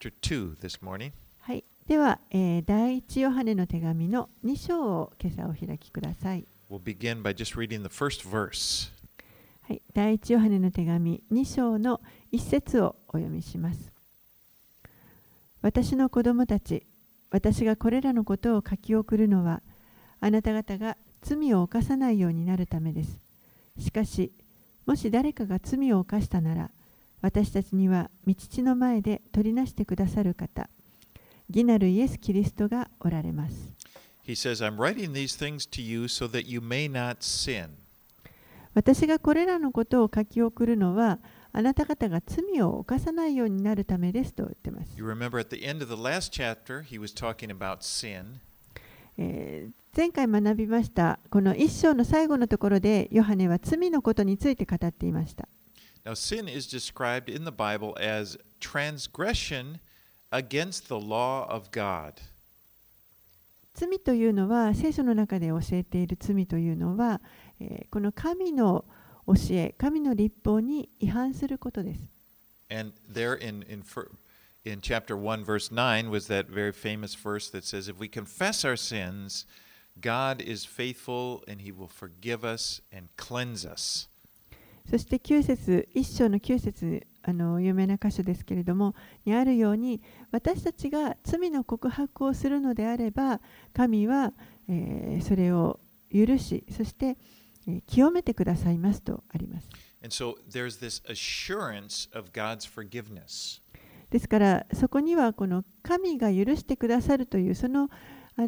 chapter 2 this morning. はい、では、第一ヨハネの手紙の2章を今朝お開きください。 We'll begin by just reading the first verse. はい、第一ヨハネの手紙2章の1節をお読みします。私の子供たち、私がこれらのことを書き送るのは、あなた方が罪を犯さないようになるためです。しかし、もし誰かが罪を犯したなら、私たちには御父の前で取りなしてくださる方、義なるイエス・キリストがおられます。 He says, I'm writing these things to you so that you may not sin. 私がこれらのことを書き送るのは、あなた方が罪を犯さないようになるためですと言っています。 You remember at the end of the last chapter, he was talking about sin. 前回学びました、この一章の最後のところで、ヨハネは罪のことについて語っていました。 Now, sin is described in the Bible as transgression against the law of God. 罪というのは、聖書の中で教えている罪というのは、この神の教え、神の律法に違反することです。 And there in chapter 1, verse 9 was that very famous verse that says, if we confess our sins, God is faithful and he will forgive us and cleanse us. そして9節、一章の9節、有名な箇所ですけれども、にあるように、私たちが罪の告白をするのであれば、神は、それを許し、そして、清めてくださいますとあります。 And so there's this assurance of God's forgiveness. ですから、そこにはこの神が許してくださるという、その、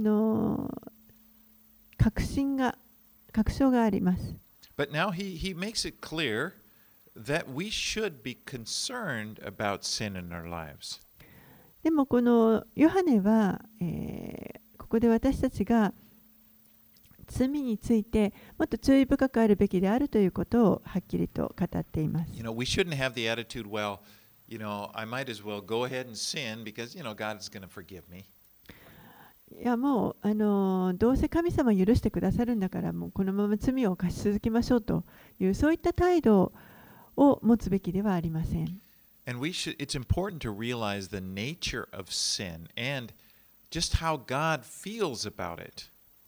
確証があります。 But now he makes it clear that we should be concerned about sin in our lives. でもこのヨハネは、ここで私たちが罪についてもっと注意深くあるべきであるということをはっきりと語っています。 We shouldn't have the attitude, well, I might as well go ahead and sin because, God is going to forgive me. いやもうどうせ神様許してくださるんだからもうこのまま罪を犯し続けましょうというそういった態度を持つべきではありません。 And it's important to realize the nature of sin and just how God feels about it.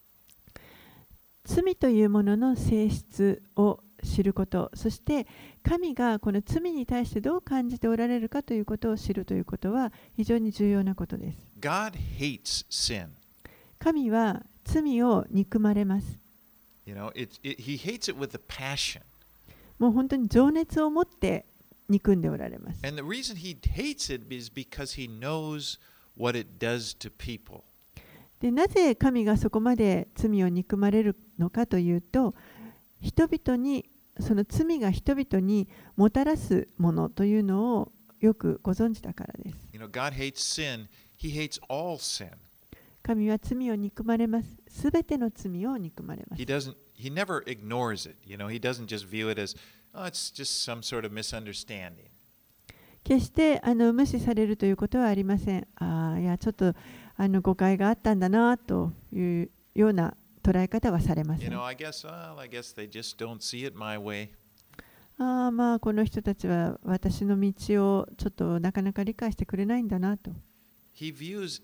罪というものの性質を知ること、そして神がこの罪に対してどう感じておられるかということを知るということは非常に重要なことです。 God hates sin. 神は罪を憎まれます。 He hates it with a passion. もう本当に情熱を持って憎んでおられます。 And the reason he hates it is because he knows what it does to people. でなぜ神がそこまで罪を憎まれるのかというと、人々にその罪が人々にもたらすものというのをよくご存知だからです。 God hates sin. He hates all sin. 神は罪を憎まれます。すべての罪を憎まれます。 He never ignores it. He doesn't just view it as, oh, it's just some sort of misunderstanding. 決して無視されるということはありません。いやちょっと誤解があったんだなというような捉え方はされません。 I guess they just don't see it my way. まあこの人たちは私の道をちょっとなかなか理解してくれないんだなと。 He views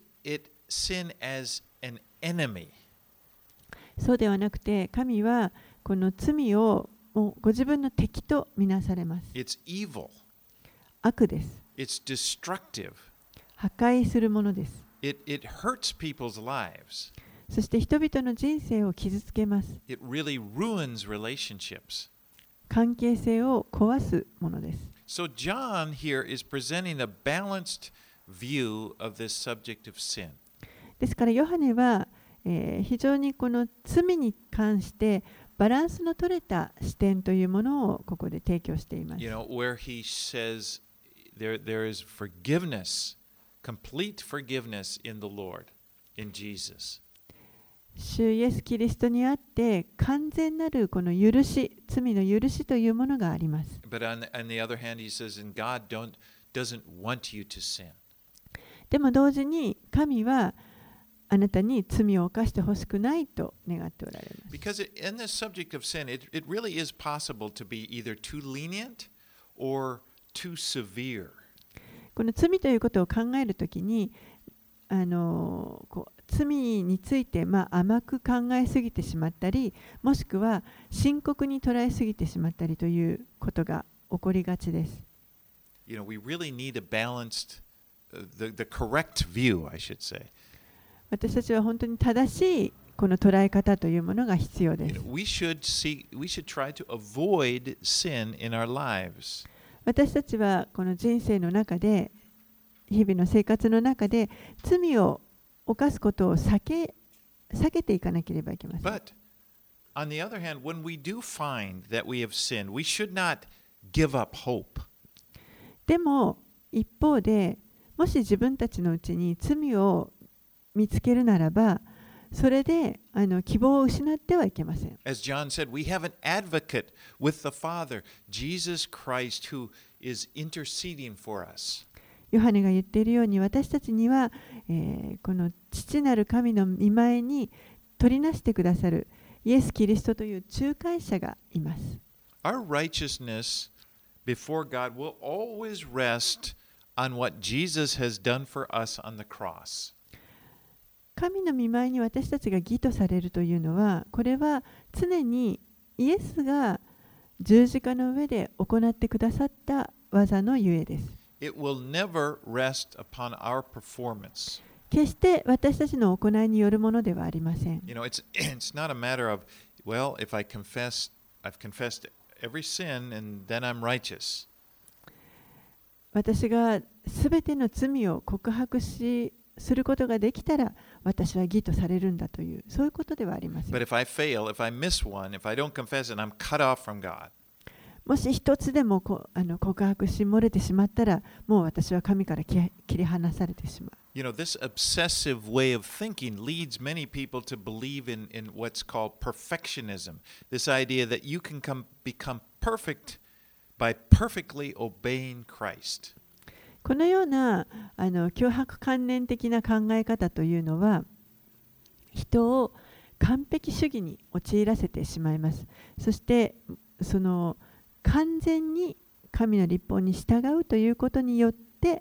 sin as an enemy. そうではなくて、神はこの罪をもうご自分の敵とみなされます。 It's evil. 悪です。 It's destructive. 破壊するものです。 It hurts people's lives. そして人々の人生を傷つけます。 It really ruins relationships. 関係性を壊すものです。 So John here is presenting a balanced view of this subject of sin. ですからヨハネは、非常にこの罪に関してバランスの取れた視点というものをここで提供しています。 Where he says there is forgiveness, complete forgiveness in the Lord, in Jesus. 主イエス・キリストにあって完全なるこの許し、罪の許しというものがあります。 But on the other hand, he says, and God doesn't want you to sin. でも同時に神はあなたに罪を犯してほしくないと願っておられます。 Because in this subject of sin, it really is possible to be either too lenient or too severe. この罪ということを考えるときに、罪について、甘く考えすぎてしまったり、もしくは深刻に捉えすぎてしまったりということが起こりがちです。 You know, we really need a balanced, the correct view, I should say. 私たちは本当に正しいこの捉え方というものが必要です。 We should try to avoid sin in our lives. 私たちはこの人生の中で、日々の生活の中で罪を犯すことを避けていかなければいけません。 But on the other hand, when we do find that we have sinned, we should not give up hope. でも一方で、もし自分たちのうちに罪を見つけるならば、それで希望を失ってはいけません。 As John said, we have an advocate with the Father, Jesus Christ, who is interceding for us. ヨハネが言っているように、私たちには、この父なる神の御前に取りなしてくださるイエス・キリストという仲介者がいます。 Our righteousness before God will always rest on what Jesus has done for us on the cross. 神の御前に私たちが義とされるというのは、これは常にイエスが十字架の上で行ってくださった技のゆえです。 It will never rest upon our performance. 決して私たちの行いによるものではありません。 You know, it's not a matter of, well, if I've confessed every sin and then I'm righteous. 私がすべての罪を告白することができたら、私は義とされるんだという、そういうことではありません。 But if I fail, if I miss one, if I don't confess it, I'm cut off from God. もし一つでも告白し漏れてしまったら、もう私は神から切り離されてしまう。 You know, this obsessive way of thinking leads many people to believe in what's called perfectionism. This idea that you can become perfect by perfectly obeying Christ. このような強迫観念的な考え方というのは、人を完璧主義に陥らせてしまいます。そしてその完全に神の律法に従うということによって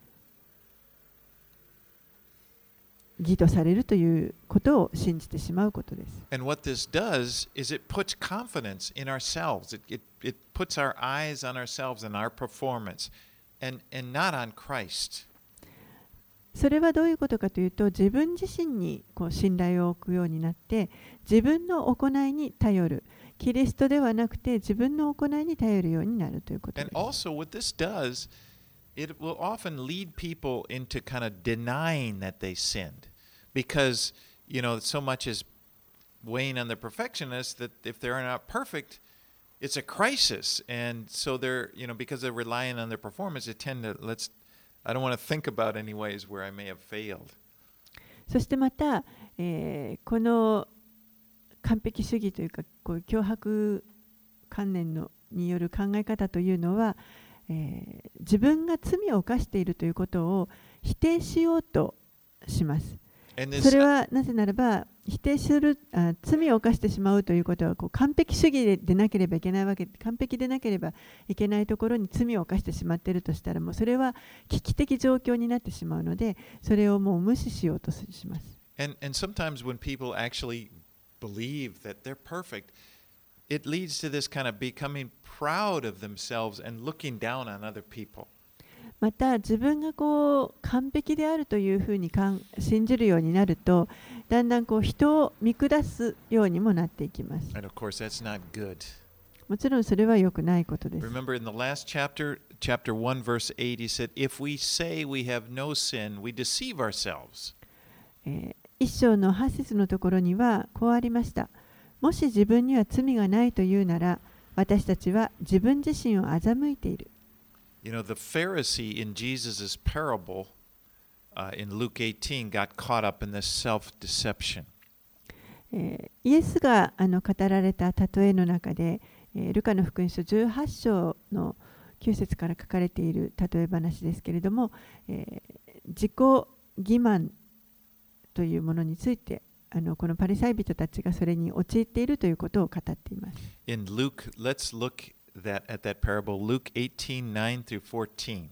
義とされるということを信じてしまうことです。 And what this does is it puts confidence in ourselves. It puts our eyes on ourselves and our performance and not on Christ. それはどういうことかというと、自分自身に信頼を置くようになって、自分の行いに頼る。キリストではなくて自分の行いに頼るようになるということです。 And also what this does, it will often lead people into kind of denying that they sinned. Because, you know, so much is weighing on the perfectionists that if they're not perfect, it's a crisis. And so they're, you know, because they're relying on their performance, they tend to, I don't want to think about any ways where I may have failed. そしてまた、この完璧主義というか、強迫観念による考え方というのは、自分が罪を犯しているということを否定しようとします。それはなぜならば、否定する罪を犯してしまうということは完璧主義でなければいけないわけで、完璧でなければいけないところに罪を犯してしまっているとしたら、もうそれは危機的状況になってしまうので、それをもう無視しようとします。 And sometimes when people actually believe that they're perfect, it leads to this kind of becoming proud of themselves and looking down on other people. また自分が完璧であるというふうに信じるようになると、だんだん人を見下すようにもなっていきます。 And of course, that's not good. もちろんそれは良くないことです。 Remember in the last chapter 1, verse 8, he said, If we say we have no sin, we deceive ourselves. 一章の8節のところにはこうありました。もし自分には罪がないというなら、私たちは自分自身を欺いている。 You know, the Pharisee in Jesus' parable in Luke 18 got caught up in this self-deception. イエスが語られた例えの中で、ルカの福音書18章の9節から書かれている例え話ですけれども、自己欺瞞というものについて、このパリサイ人たちがそれに陥っているということを語っています。 In Luke, let's look at that parable, Luke 18:9 through 14.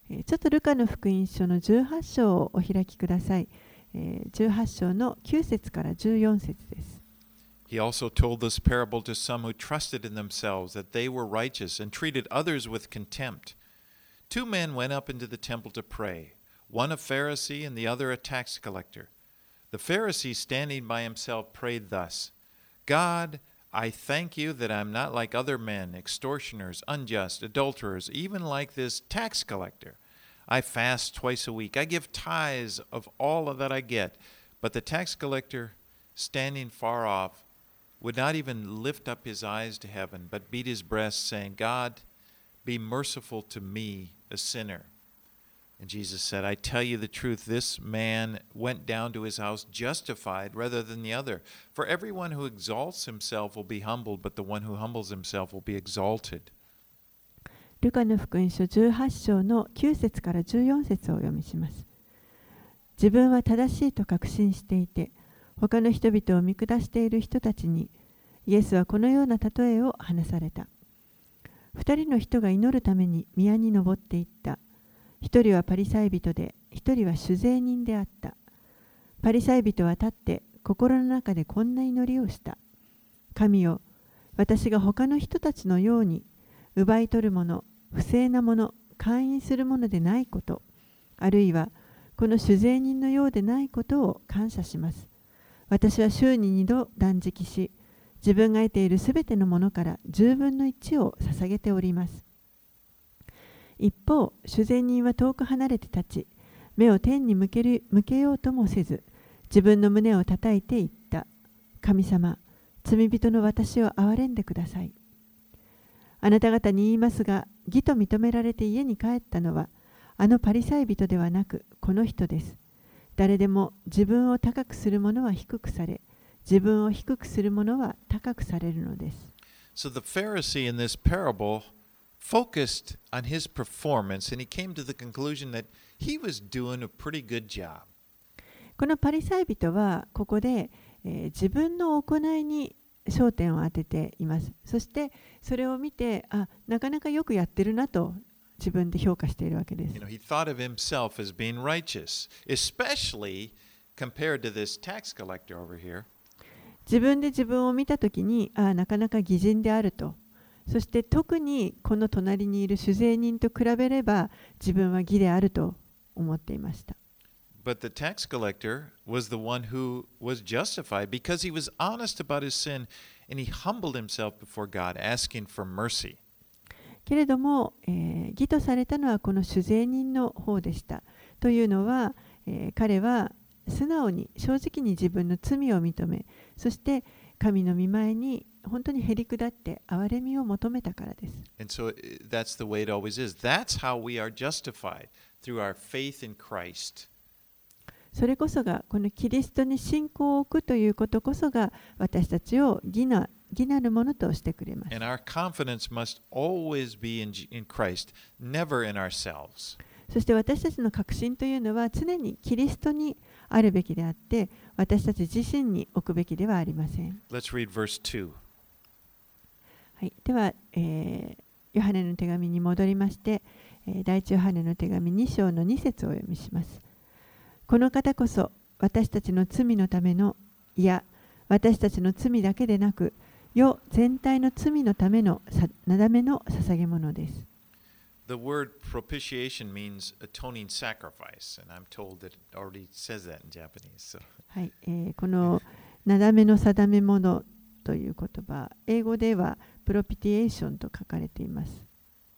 ちょっとルカの福音書の18章をお開きください。18章の9節から14節です。 He also told this parable to some who trusted in themselves that they were righteous and treated others with contempt. Two men went up into the temple to pray, one a Pharisee and the other a tax collector. The Pharisee, standing by himself, prayed thus, God, I thank you that I am not like other men, extortioners, unjust, adulterers, even like this tax collector. I fast twice a week. I give tithes of all that I get. But the tax collector, standing far off, would not even lift up his eyes to heaven, but beat his breast, saying, God, be merciful to me, a sinner. And Jesus said, I tell you the truth, this man went down to his house justified rather than the other. For everyone who exalts himself will be humbled, but the one who humbles himself will be exalted. ルカの福音書18章の9節から14節をお読みします。自分は正しいと確信していて、他の人々を見下している人たちに、イエスはこのような例えを話された。二人の人が祈るために宮に登っていった。一人はパリサイ人で、一人は酒税人であった。パリサイ人は立って心の中でこんな祈りをした。神よ、私が他の人たちのように奪い取るもの、不正なもの、姦淫するものでないこと、あるいはこの酒税人のようでないことを感謝します。私は週に2度断食し、自分が得ているすべてのものから10分の1を捧げております。一方、酒税人は遠く離れて立ち、目を天に向けようともせず、自分の胸を叩いて言った。神様、罪人の私を憐れんでください。あなた方に言いますが、義と認められて家に帰ったのは、あのパリサイ人ではなく、この人です。誰でも自分を高くする者は低くされ、自分を低くする者は高くされるのです。 So the Pharisee in this parable focused on his performance and he came to the conclusion that he was doing a pretty good job. このパリサイ人はここで、自分の行いに焦点を当てています。そしてそれを見て、なかなかよくやってるなと自分で評価しているわけです。 He thought of himself as being righteous, especially compared to this tax collector over here. 自分で自分を見たときに、なかなか義人であると。そして特にこの隣にいる酒税人と比べれば自分は義であると思っていました。 But the tax collector was the one who was justified because he was honest about his sin and he humbled himself before God, asking for mercy. けれども、義とされたのはこの酒税人の方でした。というのは、彼は素直に正直に自分の罪を認め、そして神の御前に本当にへり下って憐れみを求めたからです。 And so that's the way it always is. That's how we are justified, through our faith in Christ. それこそがこのキリストに信仰を置くということこそが私たちを義なるものとしてくれます。 And our confidence must always be in Christ, never in ourselves. そして私たちの確信というのは常にキリストにあるべきであって、私たち自身に置くべきではありません。 Let's read verse 2. はい、では、ヨハネの手紙に戻りまして、第一ヨハネの手紙2章の2節をお読みします。この方こそ私たちの罪のための、いや、私たちの罪だけでなく、世全体の罪のためのなだめの捧げ物です。 The word propitiation means atoning sacrifice, and I'm told that it already says that in Japanese. So. はい、このなだめの定め物という言葉、英語ではプロピティエーションと書かれています。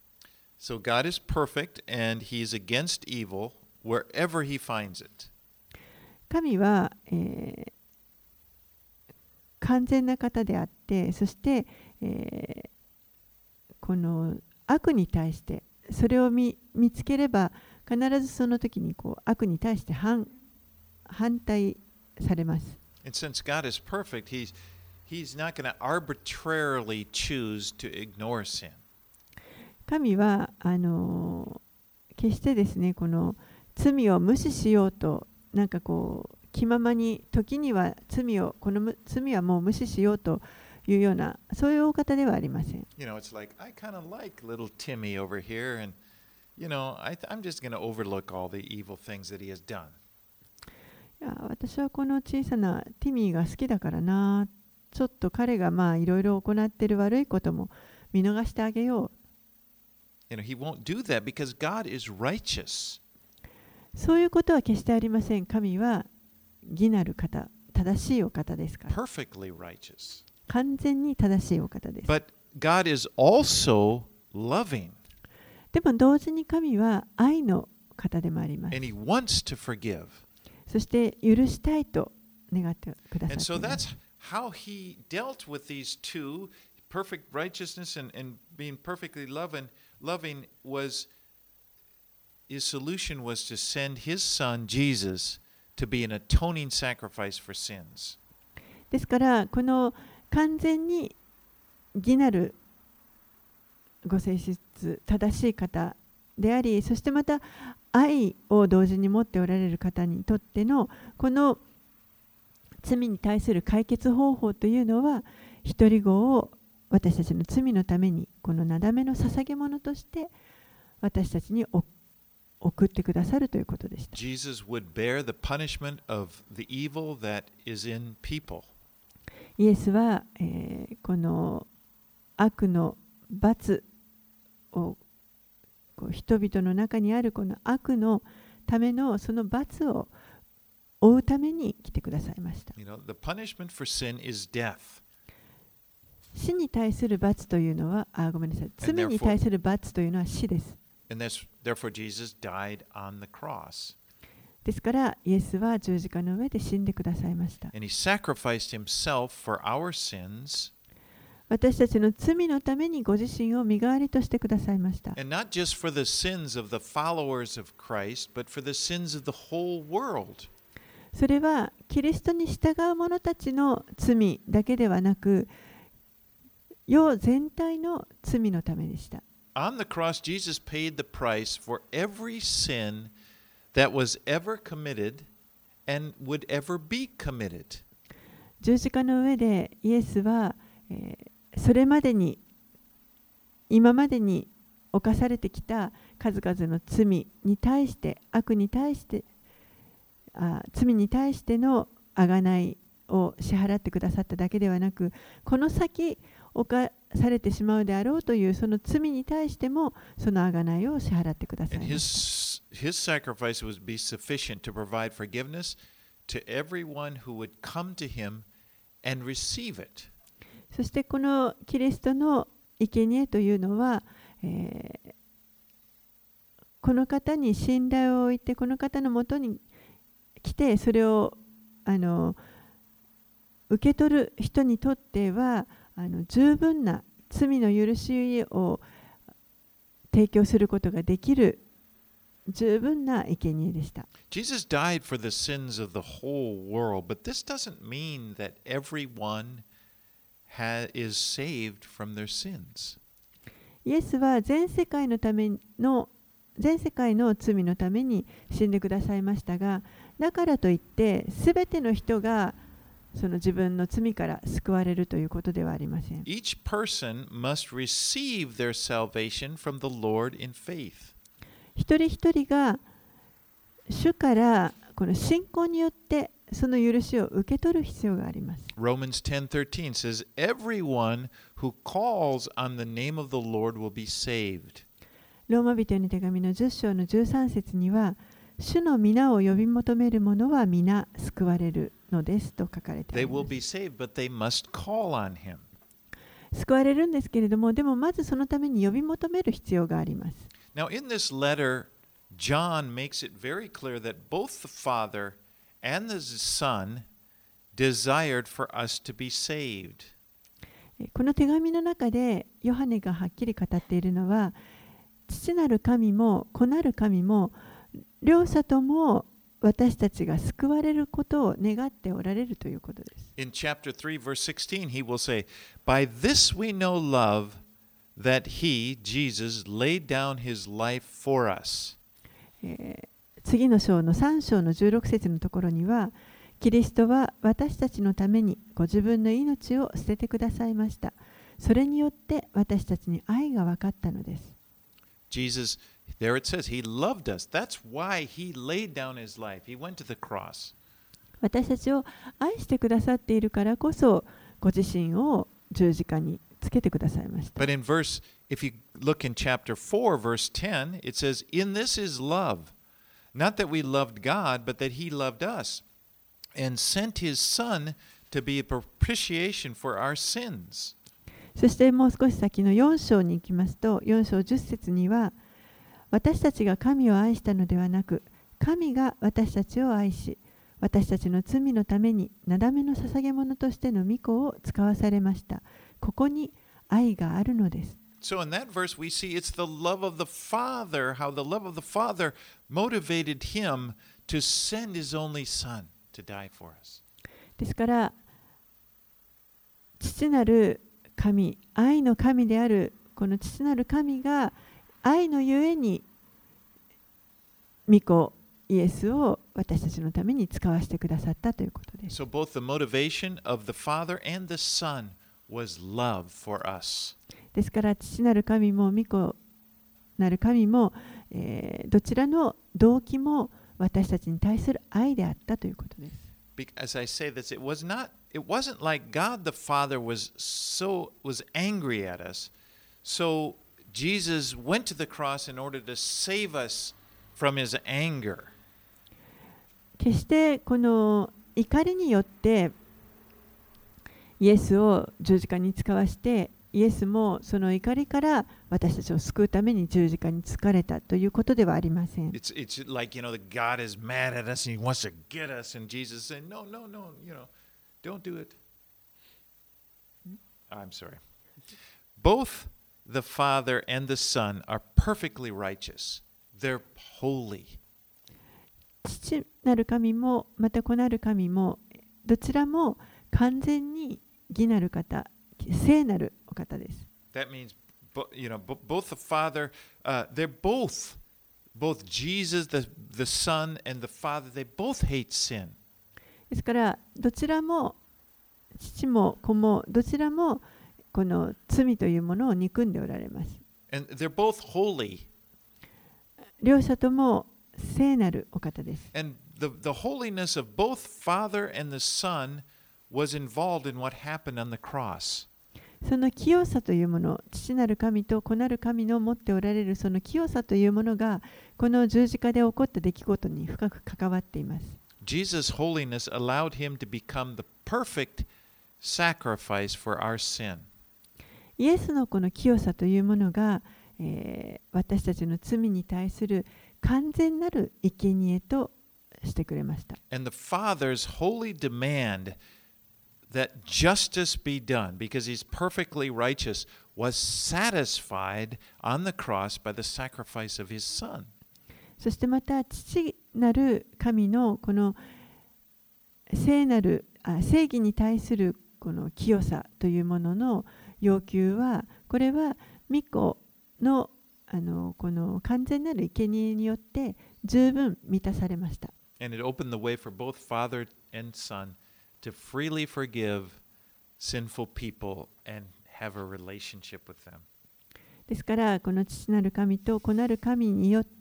So God is perfect and he is against evil wherever he finds it. 神は、完全な方であって、そして、この悪に対してそれを見つければ必ずその時にこう悪に対して反対されます。 And since God is perfect, he's not going to arbitrarily choose to ignore sin. 神は決してですね、この罪を無視しようとなんかこう気ままに時にはこの罪はもう無視しようというようなそういうお方ではありません。 You know, it's like I kind of like little Timmy over here, and I'm just going to overlook all the evil things that he has done. いや、私はこの小さなティミーが好きだからな。ちょっと彼がまあいろいろ行っている悪いことも見逃してあげよう。 He won't do that because God is righteous. そういうことは決してありません。神は義なる方、正しいお方ですから。 Perfectly righteous. 完全に正しいお方です。 But God is also loving. でも同時に神は愛の方でもあります。 And he wants to forgive. そして許したいと願ってくださ And ってい so ます。 that's how he dealt with these two, perfect righteousness and being perfectly loving was his solution was to send his son Jesus to be an atoning sacrifice for sins. ですからこの完全に義なるご性質、正しい方であり、そしてまた愛を同時に持っておられる方にとってのこの罪に対する解決方法というのは、一人子を私たちの罪のためにこのなだめの捧げ物として私たちに送ってくださるということでした。 Jesus would bear the punishment of the evil that is in people. イエスは、この悪の罰を人々の中にあるこの悪のためのその罰を負うために来てくださいました。 The punishment for sin is death. 死に対する罰というのは、ごめんなさい。罪に対する罰というのは死です。 And therefore Jesus died on the cross. ですからイエスは十字架の上で死んでくださいました。 And he sacrificed himself for our sins. 私たちの罪のためにご自身を身代わりとしてくださいました。 And not just for the sins of the followers of Christ, but for the sins of the whole world. それはキリストに従う者たちの罪だけではなく、世全体の罪のためでした。 On the cross, Jesus paid the price for every sin that was ever committed and would ever be committed. 十字架の上でイエスは、それまでに今までに犯されてきた数々の罪に対して、悪に対して罪に対しての贖いを支払ってくださっただけではなく、この先犯されてしまうであろうというその罪に対してもその贖いを支払ってくださいました。 His sacrifice would be sufficient to provide forgiveness to everyone who would come to him and receive it. そしてこのキリストの生贄というのは、この方に信頼を置いて、この方のもとに来て、それを受け取る人にとっては十分な罪の許しを提供することができる十分な生贄でした。 Jesus died for the sins of the whole world, but this doesn't mean that everyone is saved from their sins. イエスは全世界の罪のために死んでくださいましたが、だからといってすべての人がその自分の罪から救われるということではありません。 Each person must receive their salvation from the Lord in faith. 一人一人が主からこの信仰によってその許しを受け取る必要があります。 Romans 10:13 says, "Everyone who calls on the name of the Lord will be saved." ローマ人への手紙の10章の13節には、主の皆を呼び求める者は皆救われるのですと書かれてい They ま will す。 be saved, but they must call on him. 救われるんですけれども、でもまずそのために呼び求める必要があります。 Now, in this letter, John makes it very clear that both the Father and the Son desired for us to be saved. この手紙の中でヨハネがはっきり語っているのは、父なる神も子なる神も両者とも私たちが救われることを願っておられるということです。 In chapter 3, verse 16, he will say, "By this we know love, that he, Jesus, laid down his life for us." 次の章の3章の16節のところには、キリストは私たちのためにご自分の命を捨ててくださいました。それによって私たちに愛が分かったのです。 Jesus, There it says, He loved us. That's why He laid down His life. He went to the cross. 私たちを愛してくださっているからこそ、ご自身を十字架につけてくださいました。 But in verse, if you look in chapter 4, verse 10, it says, In this is love, not that we loved God, but that He loved us, and sent His Son to be a propitiation for our sins. そしてもう少し先の4章に行きますと、4章10節には、私たちが神を愛したのではなく、神が私たちを愛し、私たちの罪のためになだめの捧げ物としての御子を使わされました。ここに愛があるのです。 So in that verse we see it's the love of the Father, how the love of the Father motivated Him to send His only Son to die for us. ですから、父なる神、愛の神であるこの父なる神が愛のゆえに御子イエスを私たちのために使わせてくださったということです。 So both the motivation of the Father and the Son was love for us. ですから父なる神も御子なる神も、どちらの動機も私たちに対する愛であったということです。 As I say this, it wasn't like God the Father was angry at us. So Jesus went to the cross in order to save us from His anger. 決してこの怒りによってイエスを十字架に使わして、イエスもその怒りから私たちを救うために十字架につかれたということではありません。 It's like, that God is mad at us and He wants to get us, and Jesus said, No, don't do it. I'm sorry. Both the Father and the Son are perfectly righteous. They're holy. 父なる神もまた子なる神もどちらも完全に義なる方、聖なるお方です。 That means, both the Father, they're both Jesus, the Son, and the Father, they both hate sin. ですからどちらも父も子もどちらもこの罪というものを憎んでおられます。 And they're both holy. 両者とも聖なるお方です。 And the holiness of both Father and the Son was involved in what happened on the cross. その清さというもの、父なる神と子なる神の持っておられるその清さというものが、この十字架で起こった出来事に深く関わっています。 Jesus' holiness allowed him to become the perfect sacrifice for our sin. イエスのこの清さというものが、私たちの罪に対する完全なる生贄としてくれました。 And the Father's holy demand that justice be done, because He's perfectly righteous, was satisfied on the cross by the sacrifice of His Son. そしてまた父なる神のこの正義に対するこの清さというものの要求は、これは御子のこの完全なる生贄によって十分満たされました。 And it opened the way for both Father and Son to freely forgive sinful people and have a relationship with them. ですからこの父なる神と子なる神によって、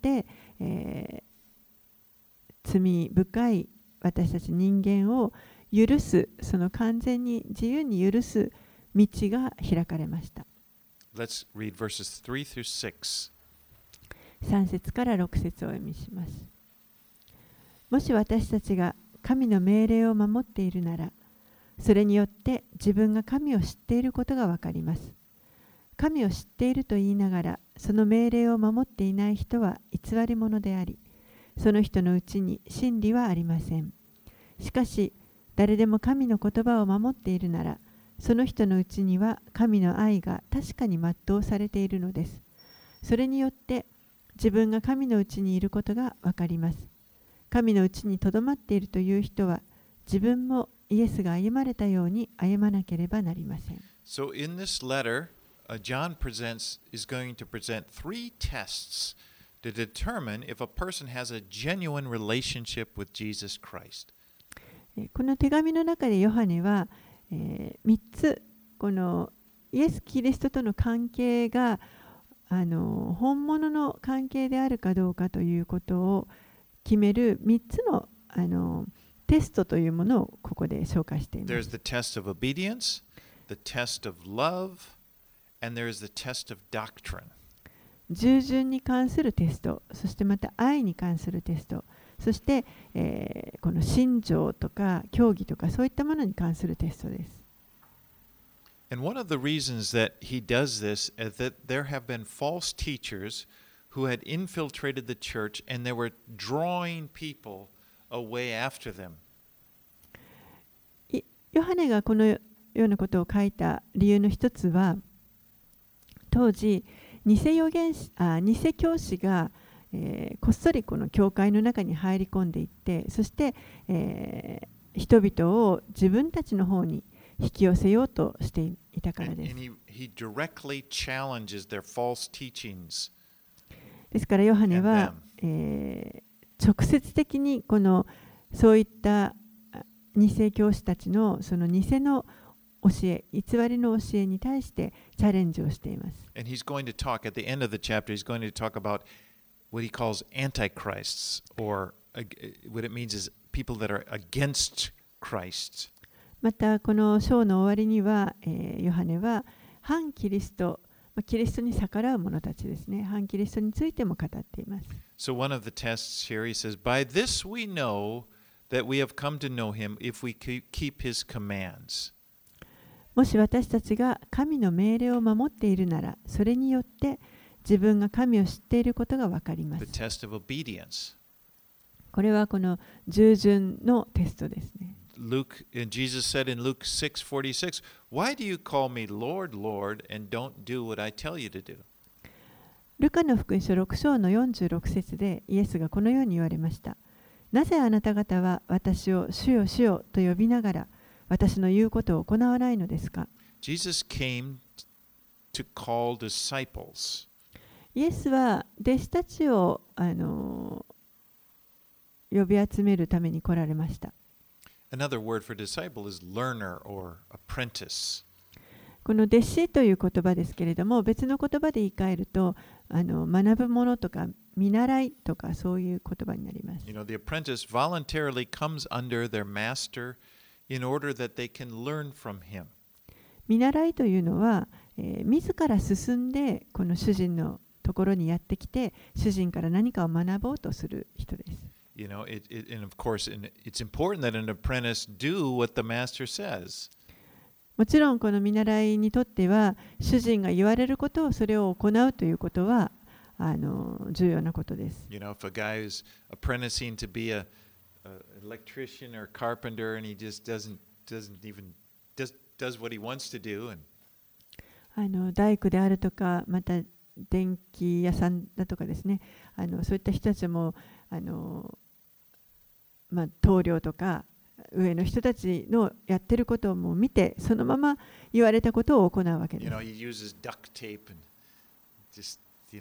罪深い私たち人間を許す、その完全に自由に許す道が開かれました。 Let's read verses 3 through 6. 3節から6節をお読みします。もし私たちが神の命令を守っているなら、それによって自分が神を知っていることがわかります。神を知っていると言いながら、その命令を守っていない人は偽り者であり、その人のうちに真理はありません。しかし、誰でも神の言葉を守っているなら、その人のうちには神の愛が確かに全うされているのです。それによって自分が神のうちにいることがわかります。神のうちにとどまっているという人は、自分もイエスが歩まれたように歩まなければなりません。 So in this letter, John is going to present 3 tests to determine if a person has a genuine relationship with Jesus Christ. この手紙の中でヨハネは、3つこのイエス・キリストとの関係が本物の関係であるかどうかということを決める3つの、テストというものをここで紹介しています。 There's the test of obedience, the test of love, and there's the test of doctrine. 従順に関するテスト、そしてまた愛に関するテスト、そして、この信条とか教義とかそういったものに関するテストです。 And one of the reasons that he does this is that there have been false teachers who had infiltrated the church and they were drawing people away after them. ヨハネがこのようなことを書いた理由の一つは、当時偽教師が、こっそりこの教会の中に入り込んでいって、そして、人々を自分たちの方に引き寄せようとしていたからです。ですからヨハネは、直接的にそういった偽教師たちのその偽の教え、偽りの教えに対してチャレンジをしています。 And he's going to talk at the end of the chapter, he's going to talk about what he calls antichrists, or what it means is people that are against Christ. またこの章の終わりには、ヨハネは反キリスト、キリストに逆らう者たちですね、反キリストについても語っています。 So one of the tests here, he says, by this we know that we have come to know him if we keep his commands. もし私たちが神の命令を守っているなら、それによって自分が神を知っていることがわかります。 The test of obedience. これはこの従順のテストですね。 Jesus said in Luke 6:46, Why do you call me Lord, Lord, and don't do what I tell you to do? ルカの福音書6章の46節でイエスがこのように言われました。なぜあなた方は私を主よ主よと呼びながら私の言うことを行わないのですか？ Jesus came to call disciples. イエスは弟子たちを呼び集めるために来られました。 Another word for disciple is learner or apprentice. この弟子という言葉ですけれども、別の言葉で言い換えると、学ぶものとか見習いとかそういう言葉になります。 You know, the apprentice voluntarily comes under their master in order that they can learn from him. 見習いというのは、自ら進んでこの主人のところにやってきて、主人から何かを学ぼうとする人です。 You know, and of course, it's important that an apprentice do what the master says. もちろんこの見習いにとっては、主人が言われることをそれを行うということは重要なことです。 You know, if a guy is apprenticing to be an electrician or carpenter and he just doesn't even does what he wants to do, and 大工であるとか、また電気屋さんだとかですね、そういった人たちも棟梁とか上の人たちのやってることをもう見て、そのまま言われたことを行うわけです。 You know, he uses duct tape and just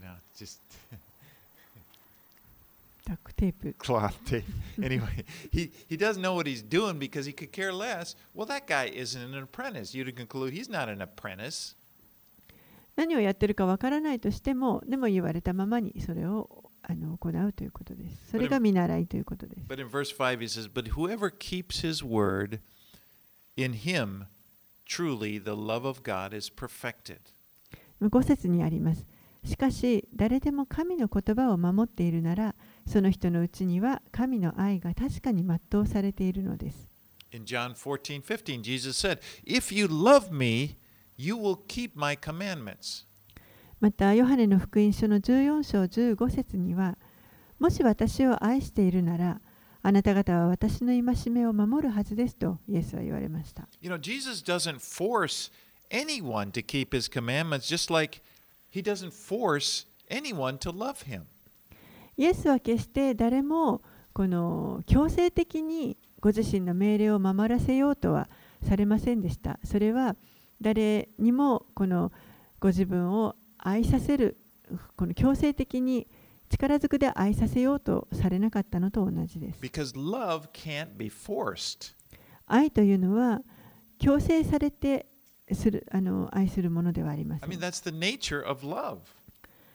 duct tape. Cloth tape. Anyway, he doesn't know what he's doing because he could care less. Well, that guy isn't an apprentice. You'd conclude he's not an apprentice. 何をやってるかわからないとしても、でも言われたままにそれを行うということです。それが見習いということです。 But in verse 5 he says, But whoever keeps his word, in him truly the love of God is perfected. 5節にあります。しかし、誰でも神の言葉を守っているなら、その人のうちには神の愛が確かに全うされているのです。 In John 14:15, Jesus said, If you love me, you will keep my commandments. また、ヨハネの福音書の14章15節には、もし私を愛しているなら、あなた方は私の戒めを守るはずですとイエスは言われました。 You know, Jesus doesn't force anyone to keep his commandments, just like he doesn't force anyone to love him. イエスは決して誰もこの強制的にご自身の命令を守らせようとはされませんでした。それは誰にもこのご自分を愛させる、この強制的に力ずくで愛させようとされなかったのと同じです。 Because love can't be forced. 愛というのは強制されて愛するものではありません。 I mean, that's the nature of love.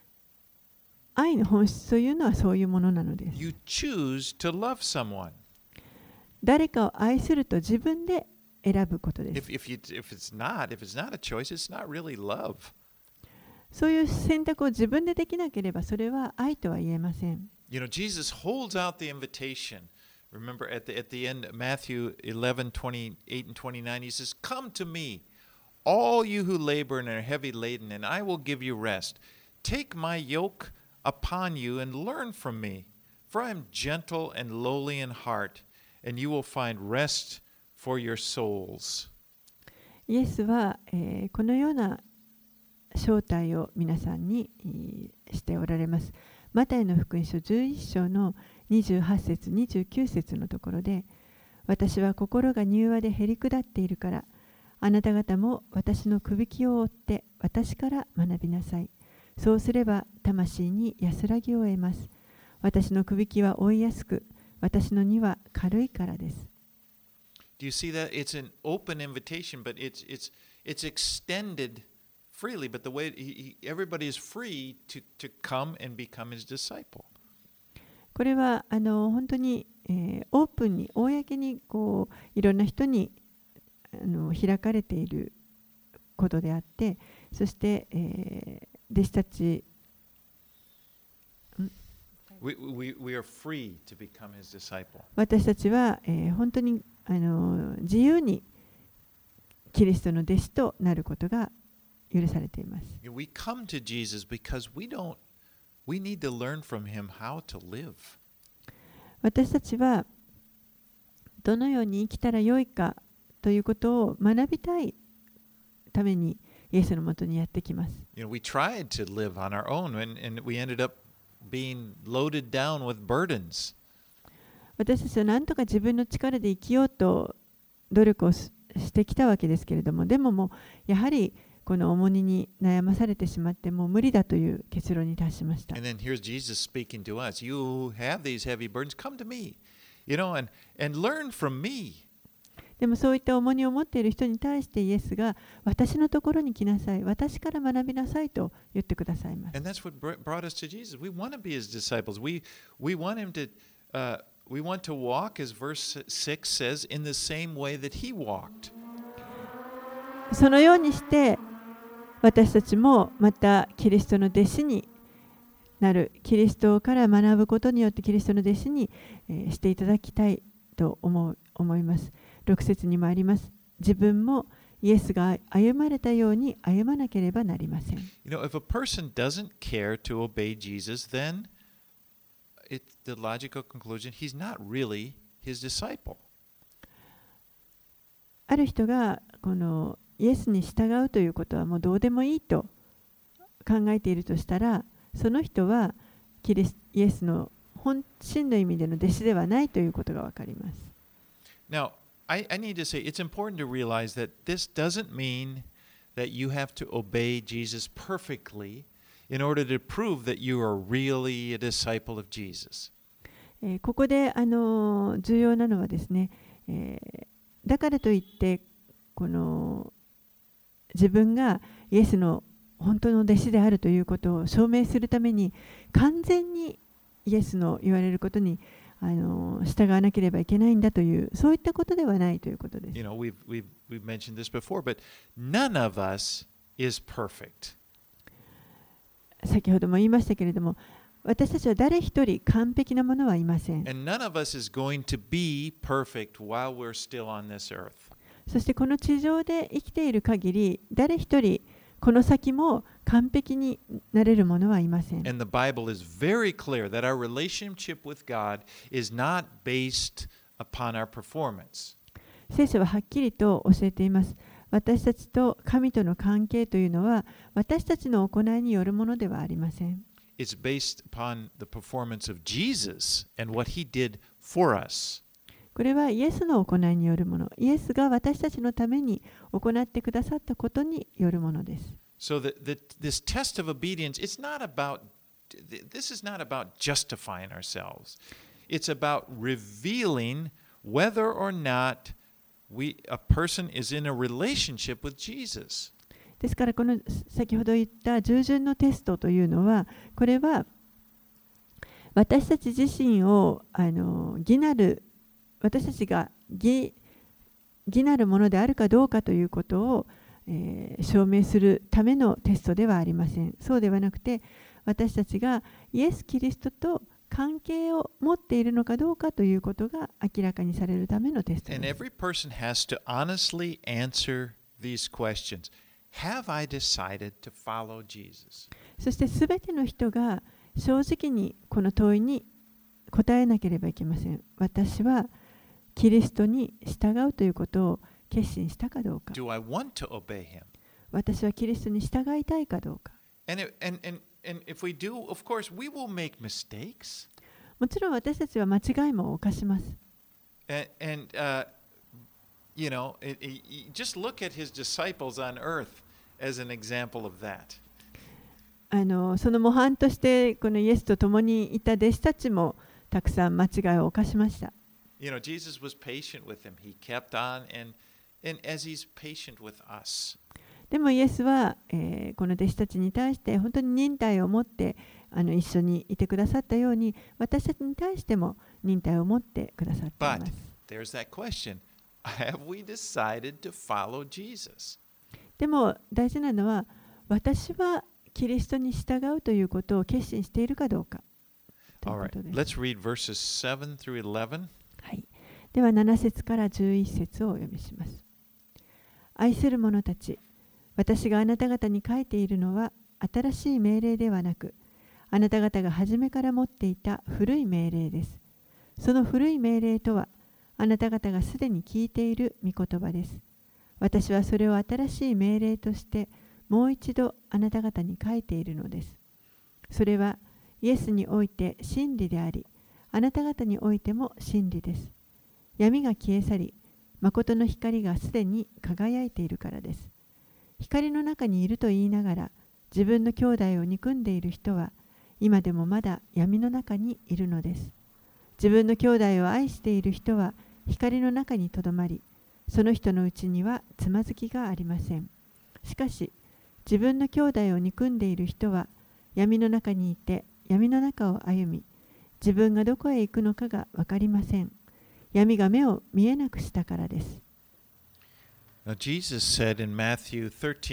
愛の本質というのはそういうものなのです。 You choose to love someone. 誰かを愛すると自分で選ぶことです。 If it's not a choice, it's not really love. そういう選択を自分でできなければそれは愛とは言えません。 You know, Jesus holds out the invitation. Remember at the end, Matthew 11:28 and 29, he says, "Come to me, all you who labor and are heavy laden, and I will give you rest. Take my yoke upon you and learn from me, for I am gentle and lowly in heart, and you will find rest for your souls." イエスは、このような招待を皆さんにしておられます。マタイの福音書11章の28節29節のところで、私は心が柔和でへり下っているから、あなた方も私のくびきを追って私から学びなさい。そうすれば魂に安らぎを得ます。私のくびきは追いやすく、私の荷は軽いからです。 Do you see that? It's an open invitation, but it's extended freely, but the way everybody is free to come and become his disciple. これは本当に、オープンに公にこういろんな人に開かれていることであって、そして、弟子たち We are free to become his disciple. 私たちは、本当に自由にキリストの弟子となることが許されています。 We come to Jesus because we need to learn from him how to live. 私たちはどのように生きたらよいかということを学びたいためにイエスのもとにやってきます。 We tried to live on our own and we ended up being loaded down with burdens. 私たちは何とか自分の力で生きようと努力をしてきたわけですけれども、でももうやはりこの重荷に悩まされてしまってもう無理だという結論に達しました。 And then here's Jesus speaking to us. You who have these heavy burdens, come to me, and learn from me. でもそういった重荷を持っている人に対してイエスが私のところに来なさい、私から学びなさいと言ってくださいます。 And that's what brought us to Jesus. We want to be his disciples. We want him to we want to walk, as verse 6 says, in the same way that he walked. そのようにして私たちもまたキリストの弟子になる、キリストから学ぶことによってキリストの弟子にしていただきたいと思います。6節にもあります。自分もイエスが歩まれたように歩まなければなりません。 If a person doesn't care to obey Jesus, then it's the logical conclusion he's not really his disciple. ある人がこのイエスに従うということはもうどうでもいいと考えているとしたら、その人はイエスの本真の意味での弟子ではないということがわかります。 Now, I need to say it's important to realize that this doesn't mean that you have to obey Jesus perfectly in order to prove that you are really a disciple of Jesus. ここで重要なのはですね、だからといってこの自分がイエスの本当の弟子であるということを証明するために完全にイエスの言われることに従わなければいけないんだという、そういったことではないということです。 We've mentioned this before, but none of us is perfect. 先ほども言いましたけれども、私たちは誰一人完璧なものはいません。 And none of us is going to be perfect while we're still on this earth. そしてこの地上で生きている限り、誰一人この先も完璧になれるものはいません。 And the Bible is very clear that our relationship with God is not based upon our performance. 聖書ははっきりと教えています。私たちと神との関係というのは私たちの行いによるものではありません。 It's based upon the performance of Jesus and what he did for us. これはイエスの行いによるもの。イエスが私たちのために行ってくださったことによるものです。 So this test of obedience, this is not about justifying ourselves. It's about revealing whether or not a person is in a relationship with Jesus. ですからこの先ほど言った従順のテストというのは、これは私たち自身を私たちが義なるものであるかどうかということを、証明するためのテストではありません。そうではなくて、私たちがイエス・キリストと関係を持っているのかどうかということが明らかにされるためのテストです。 And every person has to honestly answer these questions. Have I decided to follow Jesus? そしてすべての人が正直にこの問いに答えなければいけません。私はキリストに従うということを決心したかどうか。 Do I want to obey him? 私はキリストに従いたいかどうか。 And if we do, of course, we will make mistakes. もちろん私たちは間違いも犯します。 You know, just look at his disciples on earth as an example of that. その模範としてこのイエスと共にいた弟子たちもたくさん間違いを犯しました。 You know, Jesus was patient with them. He kept on, and as he's patient with us. でもイエスは、この弟子たちに対して本当に忍耐を持って一緒にいてくださったように、私たちに対しても忍耐を持ってくださっています。 But there's that question. Have we decided to follow Jesus? でも大事なのは、私はキリストに従うということを決心しているかどうかということです。 Let's read verses 7 through 11. はい。では7節から11節をお読みします。愛する者たち、私があなた方に書いているのは新しい命令ではなく、あなた方が初めから持っていた古い命令です。その古い命令とは、あなた方がすでに聞いている御言葉です。私はそれを新しい命令としてもう一度あなた方に書いているのです。それはイエスにおいて真理であり、あなた方においても真理です。闇が消え去り、誠の光がすでに輝いているからです。光の中にいると言いながら、自分の兄弟を憎んでいる人は、今でもまだ闇の中にいるのです。自分の兄弟を愛している人は、光の中にとどまり、その人のうちにはつまずきがありません。しかし、自分の兄弟を憎んでいる人は、闇の中にいて、闇の中を歩み、自分がどこへ行くのかが分かりません。闇が目を見えなくしたからです。 Now, Jesus said in Matthew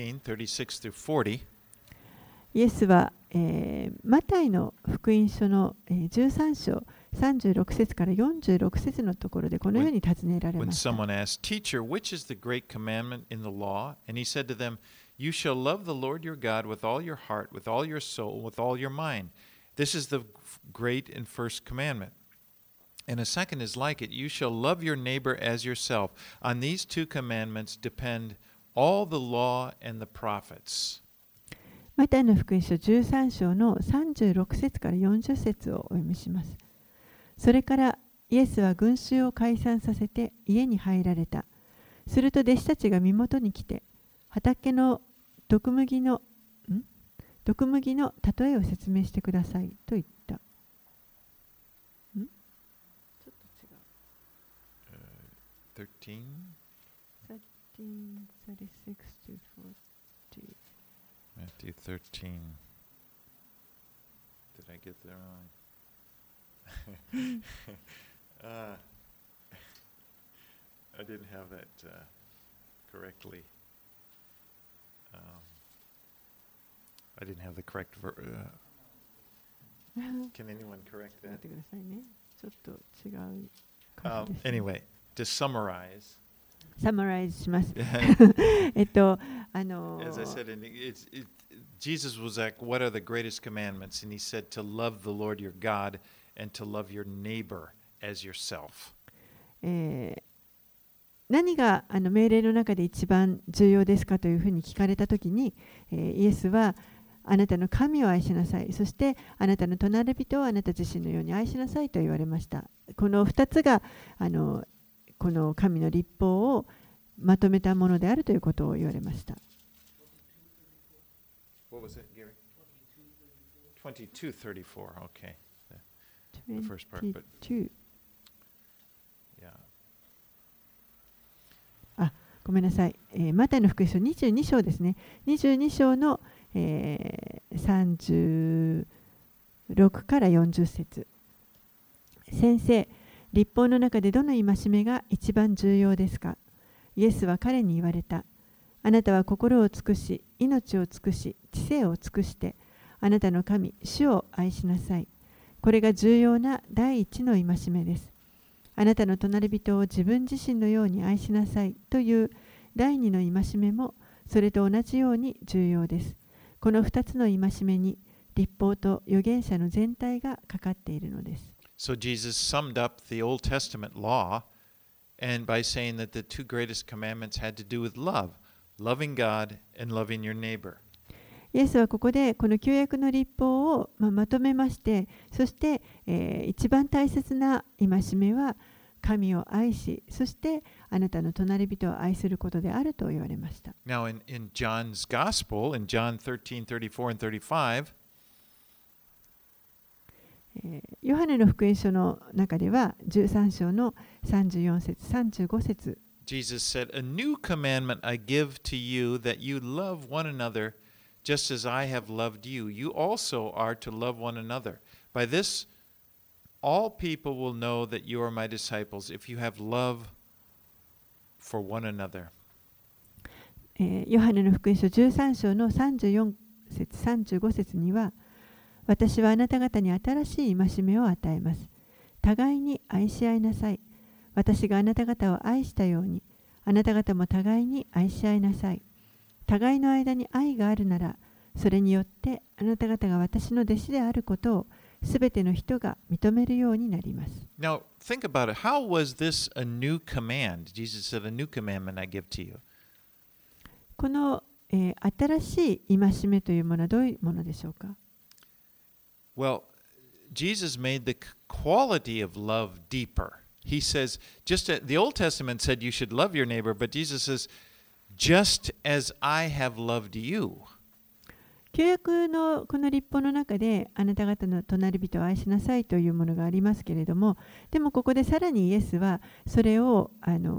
13:36-40, イエスは、マタイの福音書の13章36節から46節のところでこのように尋ねられ when ました。 someone asked, Teacher, which is the great commandment in the law? And he said to them, You shall love the Lord your God with all your heart, with all your soul, with all your mind. This is the great and first commandment. And a second is like it. You shall love your neighbor as yourself. On these two commandments depend all the law and the prophets. マタイの福音書13章の36節から40節をお読みします。それからイエスは群衆を解散させて家に入られた。すると弟子たちが身元に来て、畑の毒麦の例えを説明してくださいと言った。 13? 36 to 40. Matthew 13. Did I get that wrong? I didn't have that correctly. I didn't have the correct Can anyone correct 待 that? ってくださいね。ちょっと違う感じです。 Anyway, to summarize, サマライズします。 as I said, Jesus was like, what are the greatest commandments? And he said to love the Lord your God and to love your neighbor as yourself. 何が命令の中で一番重要ですかというふうに聞かれたときに、イエスはあなたの神を愛しなさい、そしてあなたの隣人をあなた自身のように愛しなさいと言われました。この2つがこの神の律法をまとめたものであるということを言われました。 What was it, Gary? 22:34. Okay. The first part, but yeah. ごめんなさい。マタイの福音書22章ですね。22章の、36 6から40節。先生、律法の中でどの戒めが一番重要ですか？イエスは彼に言われた。あなたは心を尽くし、命を尽くし、知性を尽くして、あなたの神、主を愛しなさい。これが重要な第一の戒めです。あなたの隣人を自分自身のように愛しなさいという第二の戒めもそれと同じように重要です。この2つの戒めに律法と預言者の全体がかかっているのです。 So Jesus summed up the Old Testament law and by saying that the two greatest commandments had to do with love, loving God and loving your neighbor. イエスはここでこの旧約の律法をまとめまして、そして、一番大切な戒めは神を愛し、そしてあなたの隣人を愛することであると言われました。 Now in John's Gospel, in John 13:34 and 35, ヨハネの福音書の中では13章の34節35節 Jesus said, A new commandment I give to you, that you love one another just as I have loved you. You also are to love one another. By this, all people will know that you are my disciples, if you have love for one another. ヨハネの福音書13章の34節35節には、私はあなた方に新しい戒めを与えます。互いに愛し合いなさい。私があなた方を愛したように、あなた方も互いに愛し合いなさい。互いの間に愛があるなら、それによってあなた方が私の弟子であることをすべての人が認めるようになります。 Now, think about it. How was this a new command? Jesus said, A new commandment I give to you. この、新しい戒めというものはどういうものでしょうか？ Well, Jesus made the quality of love deeper. He says, the Old Testament said you should love your neighbor, but Jesus says, just as I have loved you. 旧約のこの律法の中であなた方の隣人を愛しなさいというものがありますけれども、でもここでさらにイエスはそれを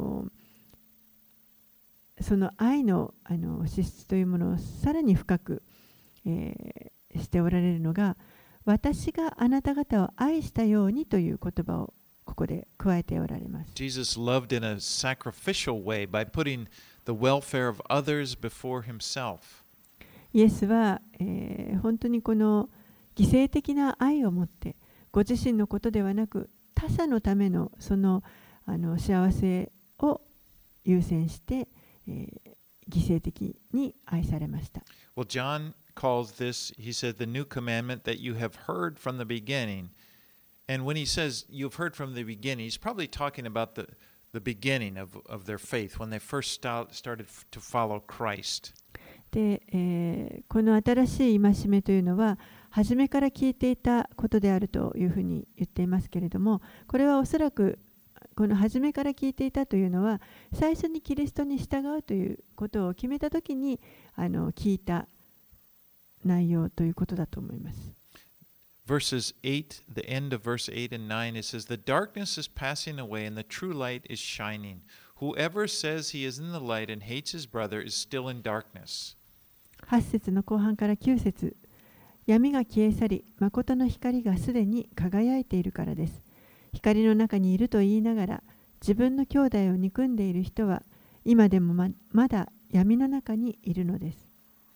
その愛の資質というものをさらに深く、しておられるのが、私があなた方を愛したようにという言葉をここで加えておられます。 Jesus loved in a sacrificial way by putting the welfare of others before himself. イエスは、本当にこの犠牲的な愛を持ってご自身のことではなく他者のためのその幸せを優先して、犠牲的に愛されました。 Well, John calls this, he said, the new commandment that you have heard from the beginning. And when he says you've heard from the beginning, he's probably talking about the beginning of their faith, when they first started to follow Christ. で、この新しい戒めというのは初めから聞いていたことであるというふうに言っていますけれども、これはおそらくこの初めから聞いていたというのは最初にキリストに従うということを決めたときに聞いた内容ということだと思います。 Verses 8, the end of verse 8 and 9, it says, The darkness is passing away and the true light is shining. Whoever says he is in the light and hates his brother is still in darkness. 8節の後半から9節、闇が消え去り、誠の光がすでに輝いているからです。光の中にいると言いながら、自分の兄弟を憎んでいる人は、今でも まだ闇の中にいるのです。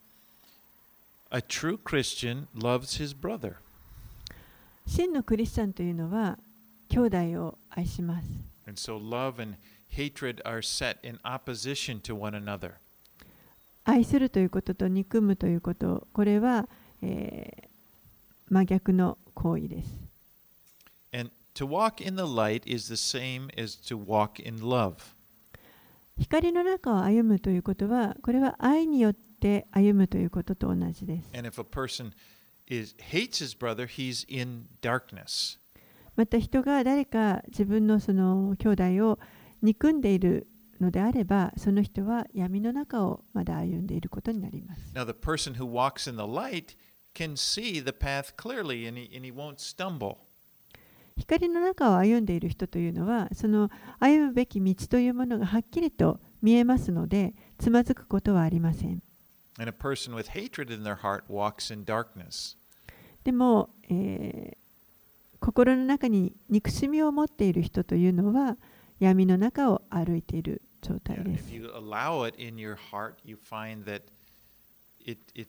A true Christian loves his brother. 真のクリスチャンというのは、兄弟を愛します。 And so love and hatred are set in opposition to one another. 愛するということと憎むということ、これは、真逆の行為です。 And to walk in the light is the same as to walk in love. 光の中を歩むということは、これは愛によって歩むということと同じです。 And if a person hates his brother, he's in darkness. また人が誰か自分のその兄弟を憎んでいるのであれば、その人は闇の中をまだ歩んでいることになります。 Now, the person who walks in the light can see the path clearly and he won't stumble. 光の中を歩んでいる人というのは、その歩むべき道というものがはっきりと見えますので、つまずくことはありません。 And a person with hatred in their heart walks in darkness. でも、心の中に憎しみを持っている人というのは闇の中を歩いている状態 Yeah, です。 if you allow it in your heart, you find that it, it,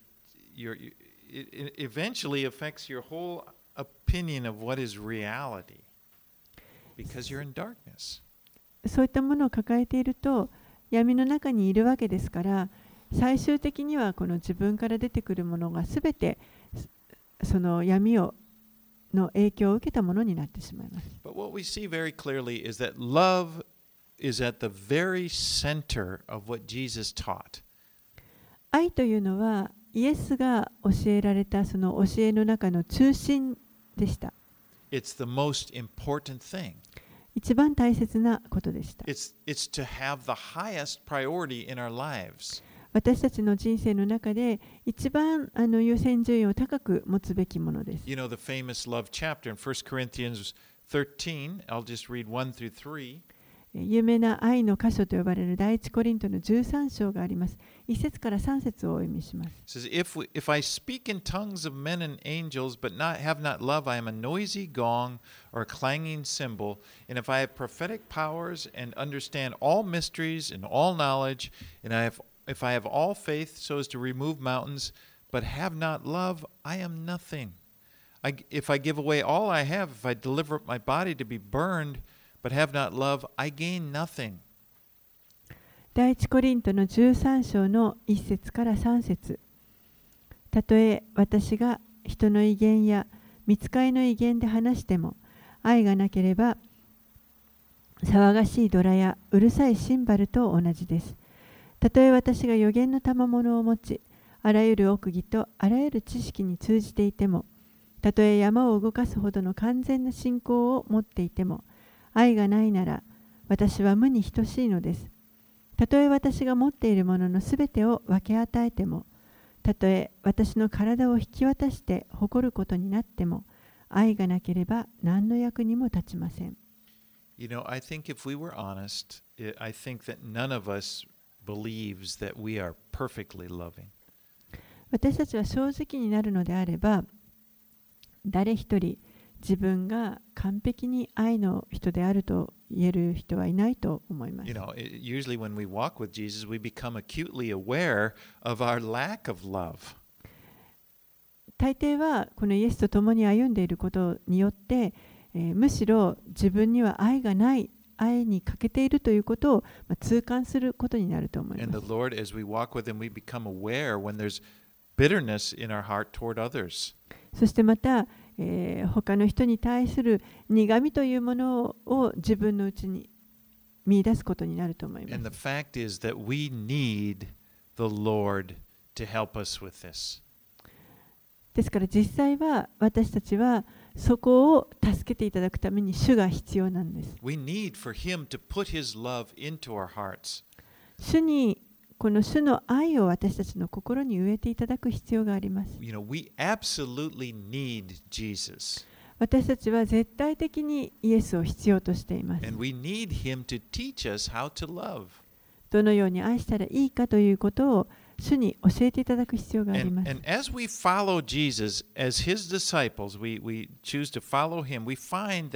it eventually affects your whole opinion of what is reality because you're in darkness. そういったものを抱えていると闇の中にいるわけですから、最終的にはこの自分から出てくるものがすべてその闇の影響を受けたものになってしまいます。 But what we see very clearly is that love is at the very center of what Jesus taught. 愛というのはイエスが教えられたその教えの中の中心でした。 It's the most important thing. 一番大切なことでした。 It's to have the highest priority in our lives. 私たちの人生の中で一番優先順位を高く持つべきものです。 You know the famous love chapter in 1 Corinthians 13. I'll just read 1 through 3. 有名な愛の箇所と呼ばれる第一コリントの13章があります。1節から3節をお読みします。 It says, if I speak in tongues of men and angels, but have not love, I am a noisy gong or a clanging cymbal. And if I have prophetic powers and understand all mysteries and all knowledge, and if I have all faith so as to remove mountains, but have not love, I am nothing. If I give away all I have, if I deliver up my body to be burned, but have not love, I gain nothing. 第一コリントの13章の1節から3節。たとえ私が人の威厳や御使いの威厳で話しても、愛がなければ騒がしいドラやうるさいシンバルと同じです。たとえ私が預言の賜物を持ち、あらゆる奥義とあらゆる知識に通じていても、たとえ山を動かすほどの完全な信仰を持っていても、愛がないなら私は無に等しいのです。たとえ私が持っているもののすべてを分け与えても、たとえ私の体を引き渡して誇ることになっても、愛がなければ何の役にも立ちません。 You know, I think if we were honest, I think that none of us believes that we are perfectly loving. 私たちは正直になるのであれば、誰一人自分が完璧に愛の人であると言える人はいないと思います。 You know, usually when we walk with Jesus, we become acutely aware of our lack of love. 大抵はこのイエスと共に歩んでいることによって、むしろ自分には愛がない、愛に欠けているということを痛感することになると思い And ま the す。 Lord, as we walk with Him, we become aware when there's bitterness in our heart toward others. そしてまた、他の人に対する苦みというものを自分のうちに見出すことになると思いま And す。 the fact is that we need the Lord to help us with this. ですから実際は私たちはそこを助けていただくために主が必要なんです。 We need for Him to put His love into our hearts. 主にこの主の愛を私たちの心に植えていただく必要があります。 You know, we absolutely need Jesus. 私たちは絶対的にイエスを必要としています。 And we need Him to teach us how to love. どのように愛したらいいかということを主に教えていただく必要があります。 And as we follow Jesus as His disciples, we choose to follow Him, we find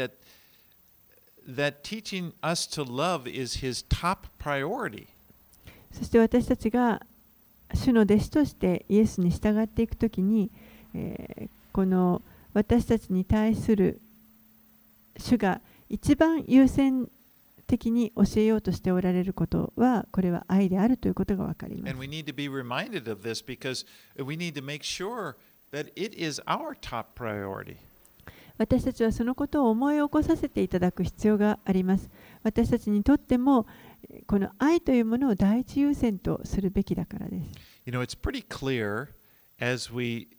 that teaching us to love is His top priority. そして私たちが主の弟子としてイエスに従っていくときに、この私たちに対する主が一番優先的に教えようとしておられることは、これは愛であるということがわかります。 And we need to be reminded of this because we need to make sure that it is our top priority. 私たちはそのことを思い起こさせていただく必要があります。私たちにとってもこの愛というものを第一優先とするべきだからです。 You know, it's pretty clear as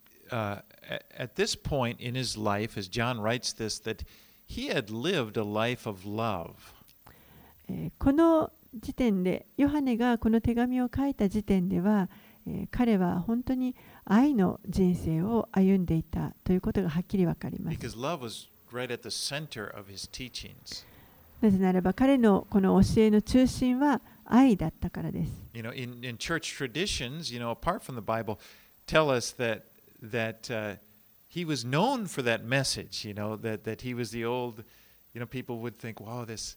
at this point in his life, as John writes this, that he had lived a life of love. この時点で、ヨハネがこの手紙を書いた時点では、彼は本当に愛の人生を歩んでいたということがはっきりわかります。 Because love was right at the center of his teachings. なぜならば彼のこの教えの中心は愛だったからです。 You know, in church traditions, you know, apart from the Bible, tell us that he was known for that message, that he was the old, people would think, wow, this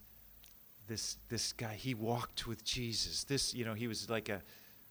guy, he walked with Jesus. He was like a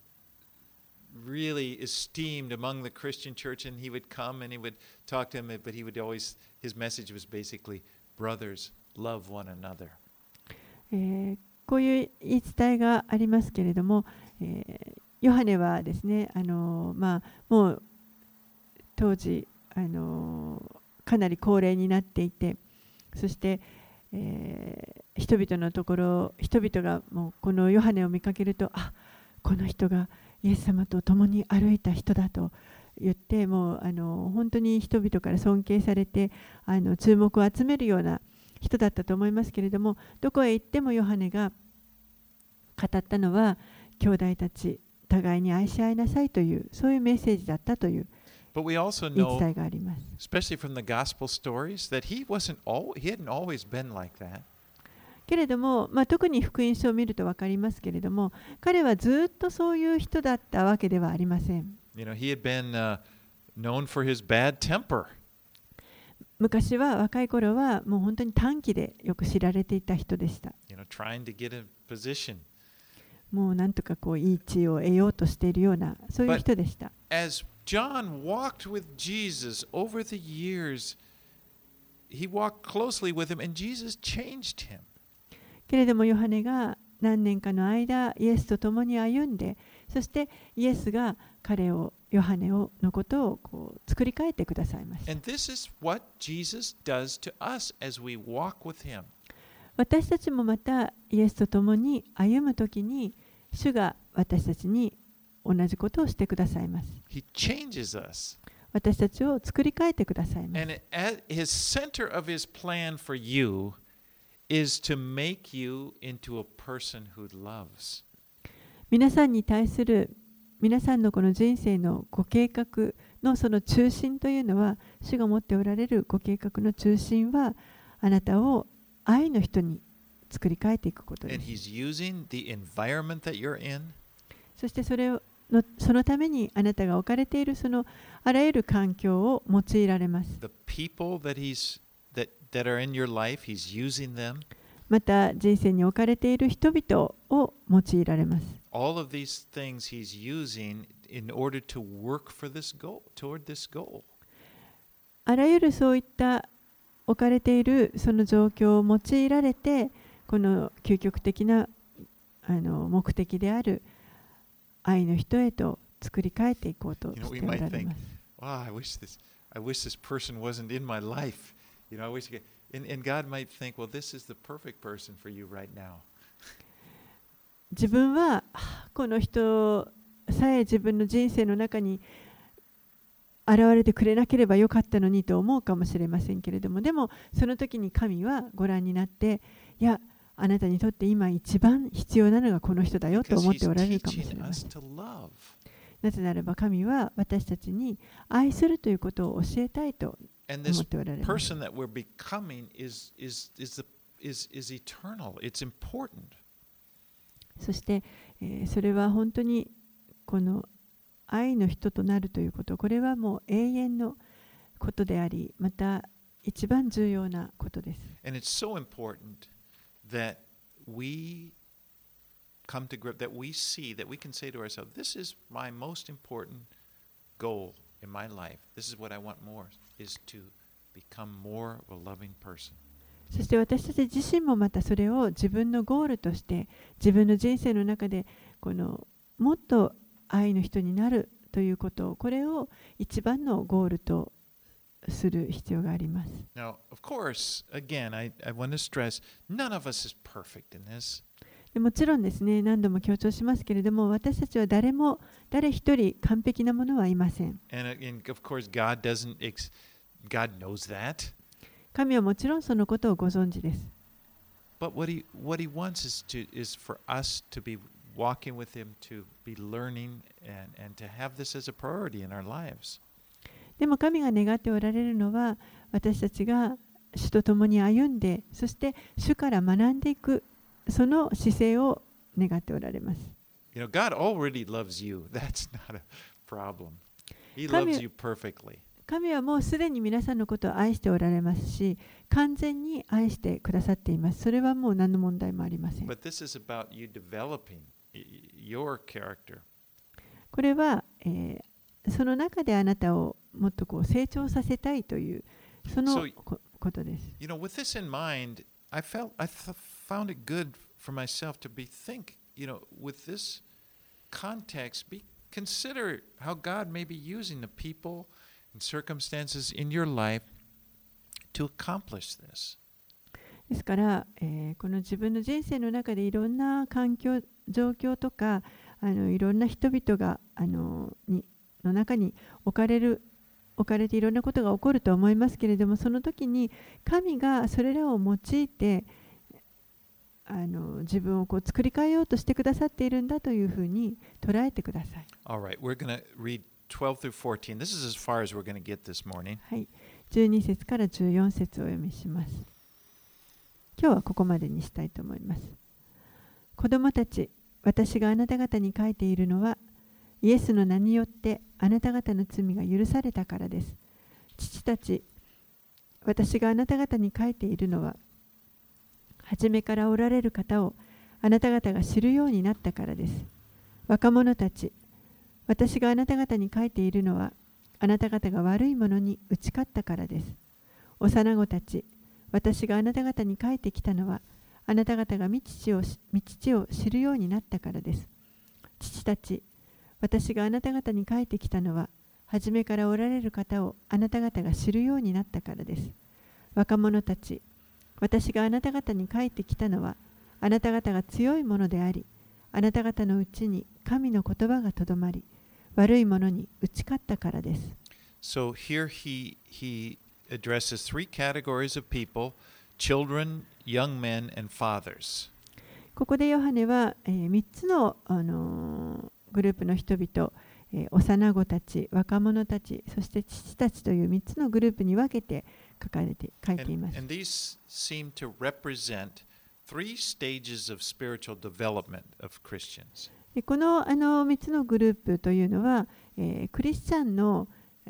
really esteemed among the Christian church, and he would come and he would talk to him, but he would always, his message was basically, brothers, love one another. こういう言い伝えがありますけれども、ヨハネはですね、もう当時、かなり高齢になっていて、そして、人々がもうこのヨハネを見かけると、この人がイエス様と共に歩いた人だと言って、もう本当に人々から尊敬されて注目を集めるような人だったと思いますけれども、どこへ行ってもヨハネが語ったのは、兄弟たち互いに愛し合いなさいという、そういうメッセージだったという言い伝えがあります。 Especially from the gospel stories, that he hadn't always been like that. けれども、特に福音書を見ると分かりますけれども、彼はずっとそういう人だったわけではありません。 He had been known for his bad temper. 昔は若い頃はもう本当に短気でよく知られていた人でした。 Trying to get a position. もうなんとかいい地位を得ようとしているような、そういう人でした。 As John walked with Jesus over the years, he walked closely with him, and Jesus changed him. けれどもヨハネが何年かの間イエスと共に歩んで、そしてイエスがヨハネのことを作り変えてくださいました。 And this is what Jesus does to us as we walk with him. 私たちもまたイエスと共に歩むときに、主が私たちに同じことをしてくださいます。 He changes us. 私たちを作り変えてくださいます。 And his center of his plan for you is to make you into a person who loves. 皆さんに対する皆さんのこの人生のご計画のその中心というのは、主が持っておられるご計画の中心は、あなたを愛の人に作り変えていくことです。 And he's using the environment that you're in. そしてそのためにあなたが置かれているそのあらゆる環境を用いられます。 The people that are in your life, he's using them. また人生に置かれている人々を用いられます。 All of these things he's using in order to work for this goal, toward this goal. あらゆるそういった置かれているその状況を用いられて、この究極的な目的である愛の人へと作り変えていこうとしておられます。 Wow, I wish this person wasn't in my life. I wish, and God might think, well, this is the perfect person for you right now. 自分はこの人さえ自分の人生の中に現れてくれなければよかったのにと思うかもしれませんけれども、でもその時に神はご覧になって、いや、あなたにとって今一番必要なのがこの人だよと思っておられるかもしれません。なぜならば神は私たちに愛するということを教えたいと思っておられます。そして、それは本当にこの愛の人となるということ、これはもう永遠のことであり、また一番重要なことです。 And it's so important that we come to grip, that we see, that we can say to ourselves, this is my most important goal in my life. This is what I want more, is to become more of a loving person. そして私たち自身もまたそれを自分のゴールとして自分の人生の中でもっと愛の人になるということを、これを一番のゴールとする必要があります。 Now, of course, again, I want to stress, none of us is perfect in this. もちろんですね、何度も強調しますけれども、私たちは誰一人完璧なものはいません。 And of course, God knows that. 神はもちろんそのことをご存知です。 But what he wants is for us to be walking with him, to be learning, and to have this as a priority in our lives. でも神が願っておられるのは、私たちが主と共に歩んで、そして主から学んでいく、その姿勢を願っておられます。 God already loves you. That's not a problem. He loves you perfectly. 神はもうすでに皆さんのことを愛しておられますし、完全に愛してくださっています。それはもう何の問題もありません。 But this is about you developing your character. これは、その中であなたをもっとこう成長させたいというそのことです。 You know, with this in mind, I found it good for myself to think, with this context, consider how God may be using the people and circumstances in your life to accomplish this. ですから、この自分の人生の中でいろんな環境、状況とかいろんな人々がの中に置かれていろんなことが起こると思いますけれども、その時に神がそれらを用いて自分をこう作り変えようとしてくださっているんだというふうに捉えてください。 All right, we're going to read 12 through 14. This is as far as we're going to get this morning. はい、12節から14節をお読みします。今日はここまでにしたいと思います。子供たち、私があなた方に書いているのは、イエスの名によってあなた方の罪が許されたからです。父たち、私があなた方に書いているのは、初めからおられる方をあなた方が知るようになったからです。若者たち、私があなた方に書いているのは、あなた方が悪いものに打ち勝ったからです。幼子たち、私があなた方に書いてきたのは、あなた方が御父を知るようになったからです。父たち、私があなた方に書いてきたのは、初めからおられる方をあなた方が知るようになったからです。若者たち、私があなた方に書いてきたのは、あなた方が強いものであり、あなた方のうちに神の言葉がとどまり、悪いものに打ち勝ったからです。 So here he addresses three categories of people: children, young men, and fathers. ここでヨハネは、3つの、グループの人々、幼子たち、若者たち、そして父たちという3つのグループに分けて書いています。 And these seem to represent three stages of spiritual development of Christians. この3つのグループというのは、クリスチャンの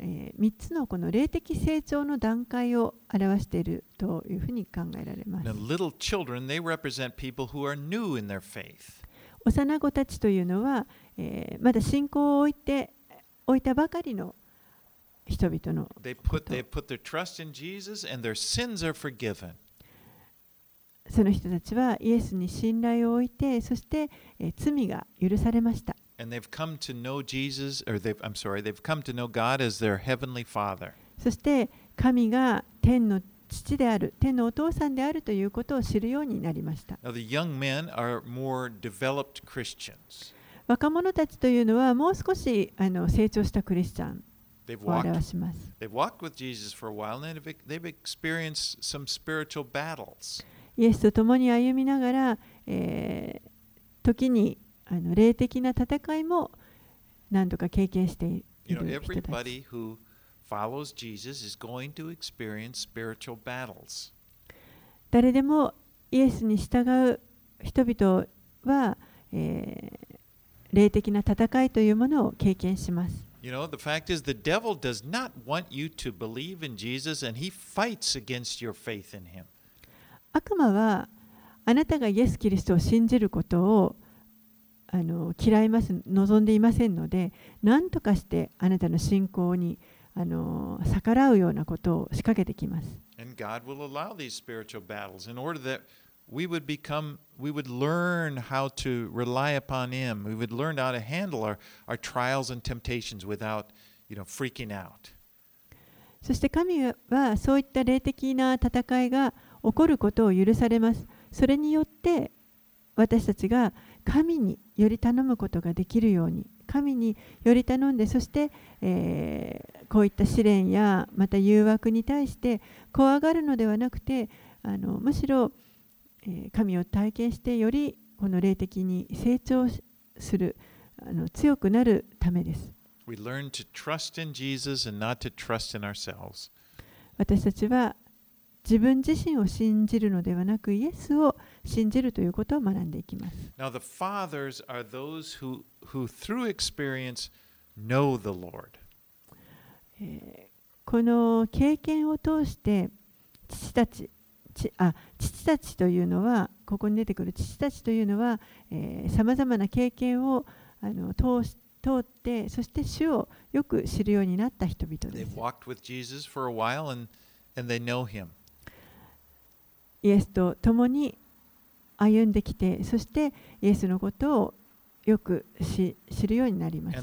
3つのこの霊的成長の段階を表しているというふうに考えられます。 Now, little children, they represent people who are new in their faith. 幼子たちというのは、まだ信仰を置いたばかりの人々のこと。 They put their trust in Jesus and their sins are forgiven. その人たちはイエスに信頼を置いて、そして、罪が許されました。 And they've come to know they've come to know God as their heavenly Father. そして神が天の父である、天のお父さんであるということを知るようになりました。 Now, the young men are more developed Christians. 若者たちというのはもう少し成長したクリスチャン They've を表します。 walked with Jesus for a while, and they've experienced some spiritual battles. イエスと共に歩みながら、時に霊的な戦いも何度か経験している人たち。 Everybody who follows Jesus is going to experience spiritual battles. 誰でもイエスに従う人々は、霊的な戦いというものを経験します。 The fact is, the devil does not want you to believe in Jesus, and he fights against your faith in him. 悪魔はあなたがイエス・キリストを信じることを望んでいませんので、何とかしてあなたの信仰に逆らうようなことを仕掛けてきます。 And God will allow these spiritual battles in order that we would learn how to rely upon Him. We would learn how to handle our trials and temptations without, freaking out. そして神はそういった霊的な戦いが起こることを許されます。それによって私たちが神により頼むことができるように、神により頼んで、そして、こういった試練やまた誘惑に対して怖がるのではなくて、むしろ、神を体験してよりこの霊的に成長する、強くなるためです。 We learn to trust in Jesus and not to trust in ourselves. 私たちは自分自身を信じるのではなく、イエスを信じるということを学んでいきます。 Now, the fathers are those who through experience know the Lord. この経験を通して父たちというのは、ここに出てくる父たちというのは、さまざまな経験を通って、そして主をよく知るようになった人々です。イエスと共に歩んできて、そしてイエスのことをよく知るようになりました。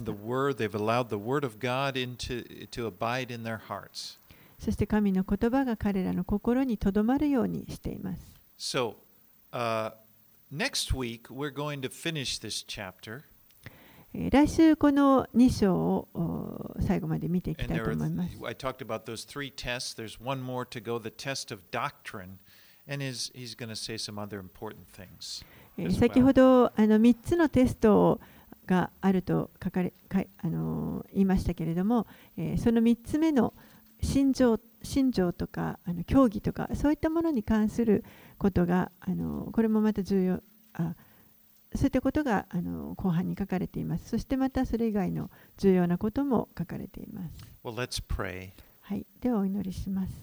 そして神の言葉が彼らの心にとどまるようにしています。 So, next week we're going to finish this chapter. 来週この2章を最後まで見ていきたいと思います。 I talked about those three tests. There's one more to go, the test of doctrine, and he's going to say some other important things. 先ほど3つのテストがあると言いましたけれども、その3つ目の信条とか教義とかそういったものに関することがこれもまた重要、そういったことが後半に書かれています。そしてまたそれ以外の重要なことも書かれています。 Well, let's pray. はい、ではお祈りします。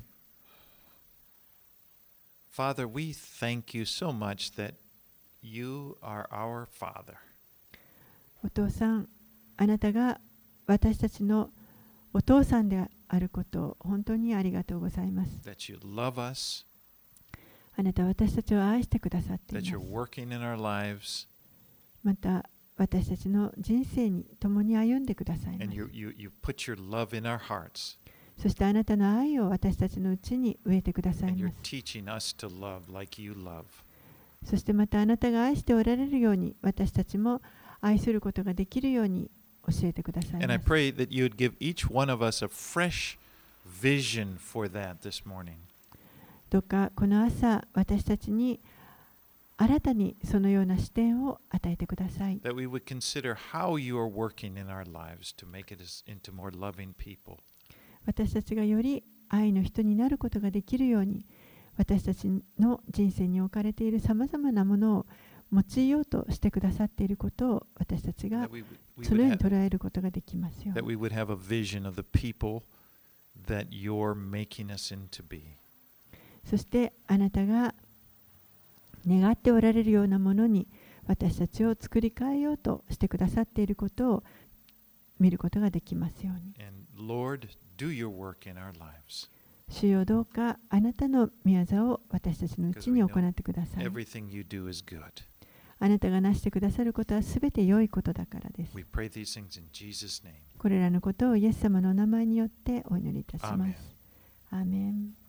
Father, we thank you so much that you are our Father. お父さん、あなたが私たちのお父さんであることを本当にありがとうございます。 That you love us. あなたは私たちを愛してくださっています。 That you're working in our lives. また私たちの人生に共に歩んでくださいます。 And you put your love in our hearts. そしてあなたの愛を私たちのうちに植えてください And ま you're す。 teaching us to love like you love. そしてまたあなたが愛しておられるように私たちも愛することができるように教えてください And I ます。 pray that you would give each one of us a fresh vision for that this morning. どうかこの朝私たちに新たにそのような視点を与えてください。 That we would consider how you are working in our lives to make it into more loving people. 私たちがより愛の人になることができるように、私たちの人生に置かれているさまざまなものを用いようとしてくださっていることを私たちが That we そのよう would に捉えることができますよう that に。 we would have a vision of the people that you're making us into be. そしてあなたが願っておられるようなものに私たちを作り変えようとしてくださっていることを見ることができますように。 And Lord, do your work in our lives. 主よどうかあなたの御業を私たちのうちに行ってください。 Everything you do is good. あなたがなしてくださることはすべて良いことだからです。 We pray these things in Jesus' name. これらのことをイエス様のお名前によってお祈りいたしま Amen. す。アーメン。